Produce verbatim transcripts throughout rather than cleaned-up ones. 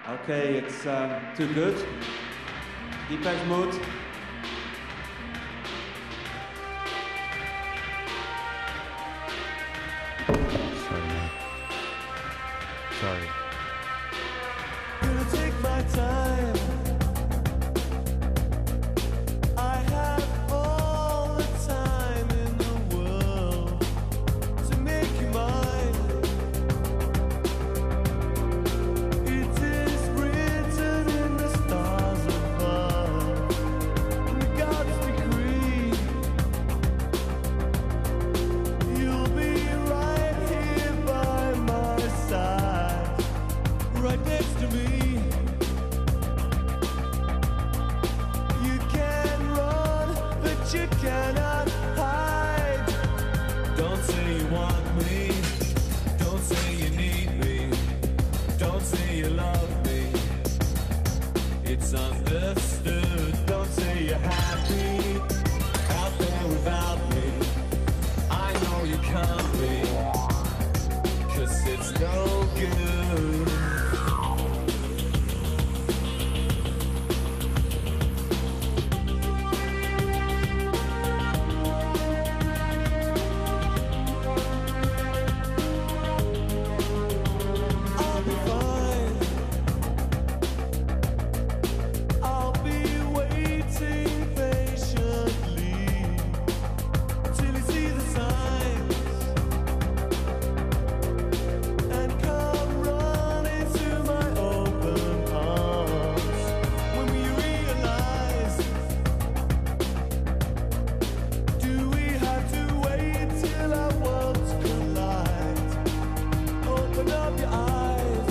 Okay, it's um, too good. Deepesh Mode. Sorry, man. Sorry. Gonna take my time. I have all the time in the world to make you mine. It is written in the stars above, in God's decree. You'll be right here by my side, right next to me. You can run, but you cannot hide. Don't say you want me. Don't say you need me. Don't say you love me. It's understood. Don't say you're happy out there without me. I know you can't be, 'cause it's no good. I'll be fine. I'll be waiting patiently till you see the signs and come running to my open arms. When we realize, do we have to wait till our worlds collide? Open up your eyes.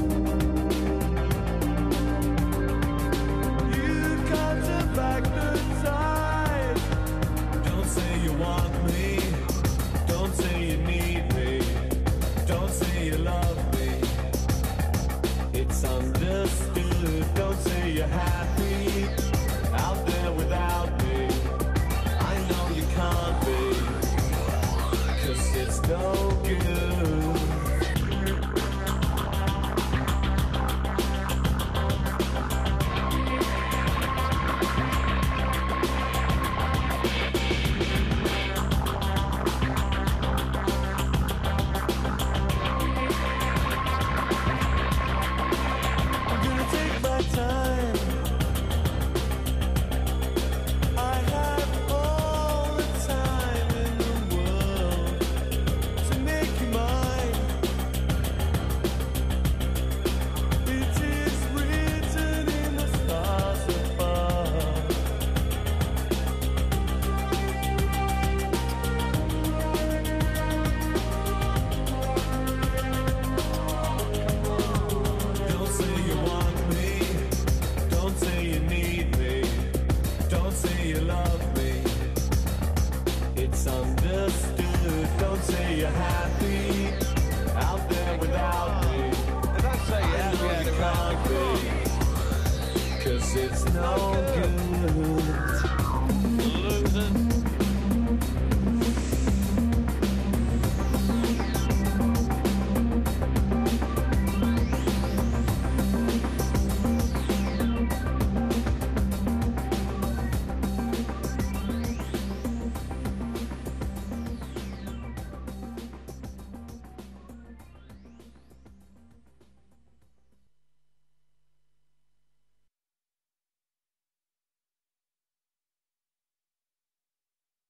You can't turn back the tide. Don't say you want me. Don't say you need me. Don't say you love me. It's understood. Don't say you're happy out there without me. I know you can't be, 'cause it's no good. I'm gonna take my time. I have all the time in the world to make you mine. It is written in the stars above. Don't say you want me. Don't say you need me. Don't say you love me. It's understood. Don't say you're happy out there without me. Did I say I yeah? know you can't be, 'cause it's no good. Losing.